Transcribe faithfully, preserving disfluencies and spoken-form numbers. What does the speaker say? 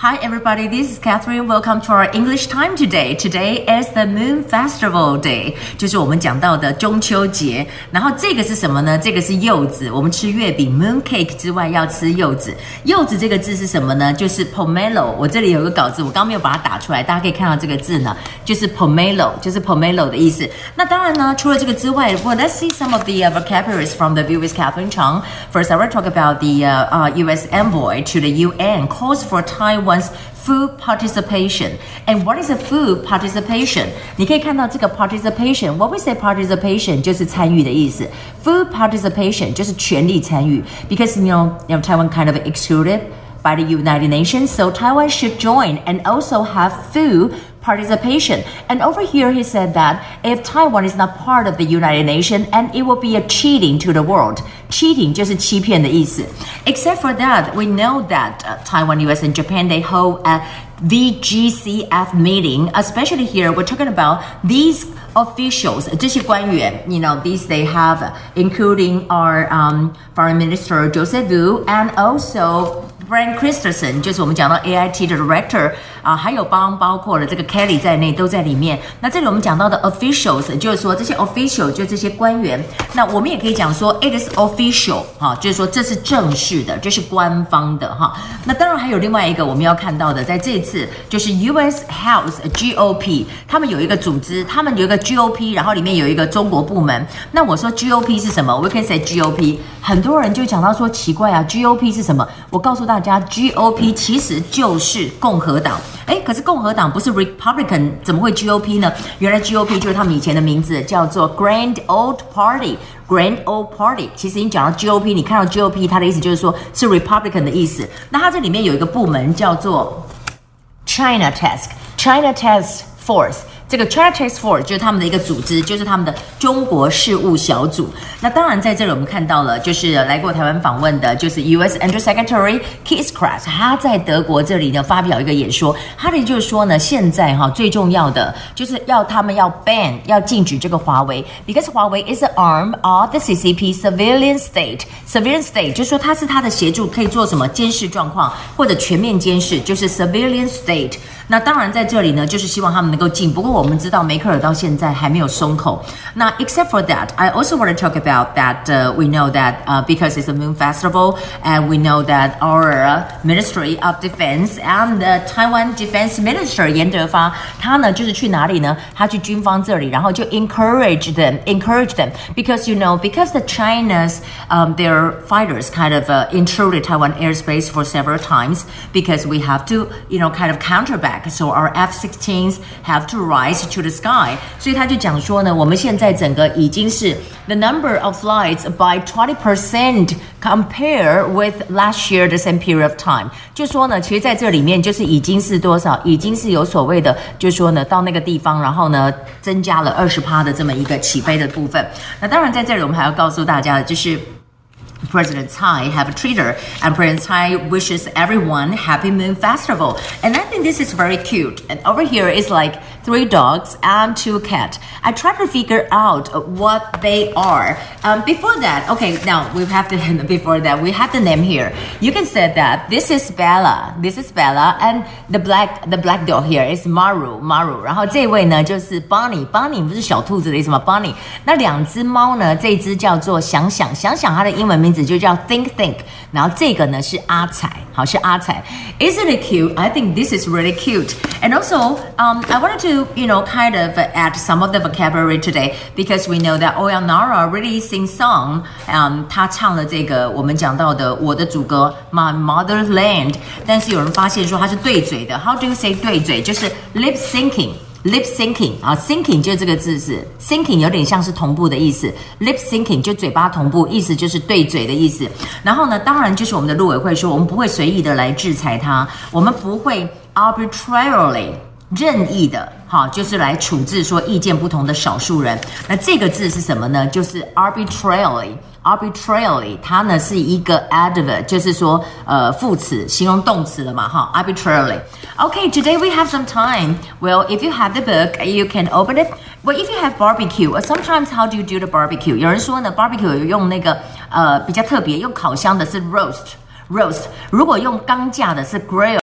Hi everybody, this is Catherine. Welcome to our English time today. Today is the Moon Festival Day， 就是我们讲到的中秋节。然后这个是什么呢？这个是柚子。我们吃月饼 Moon Cake 之外要吃柚子。柚子这个字是什么呢？就是 pomelo。我这里有个稿子，我刚没有把它打出来，大家可以看到这个字呢，就是 pomelo， 就是 pomelo 的意思。那当然呢，除了这个之外 well, let's see some of the、uh, vocabularies from the view with Catherine Chang. First, I will talk about the、uh, uh, U S envoy to the U N calls for Taiwan's food participation. And what is a food participation? 你可以看到这个 participation. What we say participation 就是参与的意思。Food participation 就是全力参与。Because you know, you know Taiwan kind of excluded by the United Nations, so Taiwan should join and also have full participation. And over here he said that if Taiwan is not part of the United Nations, and it will be a cheating to the world. Cheating 就是欺骗的意思。Except for that, we know that、uh, Taiwan, U S, and Japan, they hold a V G C F meeting, especially here, we're talking about these officials, 这些官员 you know, these they have, including our、um, Foreign Minister Joseph Wu, and also Brent Christensen 就是我们讲到 A I T 的 director 啊、呃，还有包包括了这个 Kelly 在内都在里面。那这里我们讲到的 officials 就是说这些 official 就这些官员。那我们也可以讲说 it is official 哈，就是说这是正式的，这是官方的哈。那当然还有另外一个我们要看到的，在这一次就是 U S House G O P， 他们有一个组织，他们有一个 G O P， 然后里面有一个中国部门。那我说 G O P 是什么？我可以 say G O P， 很多人就讲到说奇怪啊 ，G O P 是什么？我告诉大家。G O P 其实就是共和党，诶，可是共和党不是 Republican， 怎么会 G O P 呢？原来 G O P 就是他们以前的名字，叫做 Grand Old Party。Grand Old Party， 其实你讲到 G O P， 你看到 G O P， 它的意思就是说是 Republican 的意思。那它这里面有一个部门叫做 China Task，China Task Force。这个 China Task Force 就是他们的一个组织，就是他们的中国事务小组。那当然在这里我们看到了，就是来过台湾访问的，就是 U S Undersecretary Keith Krach， 他在德国这里呢发表一个演说，他的意思就是说呢，现在哈最重要的就是要他们要 ban 要禁止这个华为 ，because 华为 is an arm of the C C P surveillance state。surveillance state 就是说它是它的协助，可以做什么监视状况或者全面监视，就是 surveillance state。那当然在这里呢，就是希望他们能够进。不过我们知道梅克尔到现在还没有松口。那 except for that, I also want to talk about that、uh, we know that、uh, because it's a Moon Festival, and we know that our、uh, Ministry of Defense and、uh, Taiwan Defense Minister 严德发，他呢就是去哪里呢？他去军方这里，然后就 encourage them, encourage them because you know because the China's、um, their fighters kind of、uh, intruded Taiwan airspace for several times because we have to you know kind of counter back.So our F sixteens have to rise to the sky. 所以他就讲说呢，我们现在整个已经是 the number of flights by twenty percent compare with last year the same period of time. 就说呢，其实在这里面就是已经是多少，已经是有所谓的，就是说呢，到那个地方，然后呢，增加了 百分之二十 的这么一个起飞的部分。那当然在这里我们还要告诉大家的就是。President Tsai have a Twitter, and President Tsai wishes everyone Happy Moon Festival. And I think this is very cute. And over here is like three dogs and two cats. I try to figure out what they are. Um, before that, okay, now we have the before that we have the name here. You can say that this is Bella. This is Bella, and the black the black dog here is Maru Maru. 然后这位呢就是 Bunny Bunny 不是小兔子的意思吗 ？Bunny。那两只猫呢，这一只叫做想想想想，它的英文名字就叫 Think Think， 然后这个呢是阿彩，好是阿彩。Isn't it cute? I think this is really cute. And also, um, I wanted to, you know, kind of add some of the vocabulary today because we know that Oyanara really sings song. Um, 他唱了这个我们讲到的我的祖国 My Motherland， 但是有人发现说他是对嘴的。How do you say 对嘴？就是 lip syncing。Lip syncing 啊 ，syncing 就这个字是 syncing， 有点像是同步的意思。Lip syncing 就嘴巴同步，意思就是对嘴的意思。然后呢，当然就是我们的陆委会说，我们不会随意的来制裁他，我们不会 arbitrarily 任意的，好，就是来处置说意见不同的少数人。那这个字是什么呢？就是 arbitrarily。arbitrarily 它呢是一个 adverb， 就是说呃副词形容动词了嘛哈 arbitrarily. Okay, today we have some time. Well, if you have the book, you can open it. Well, if you have barbecue, sometimes how do you do the barbecue? 有人说呢 barbecue 有用那个呃比较特别，用烤箱的是 roast roast， 如果用钢架的是 grill。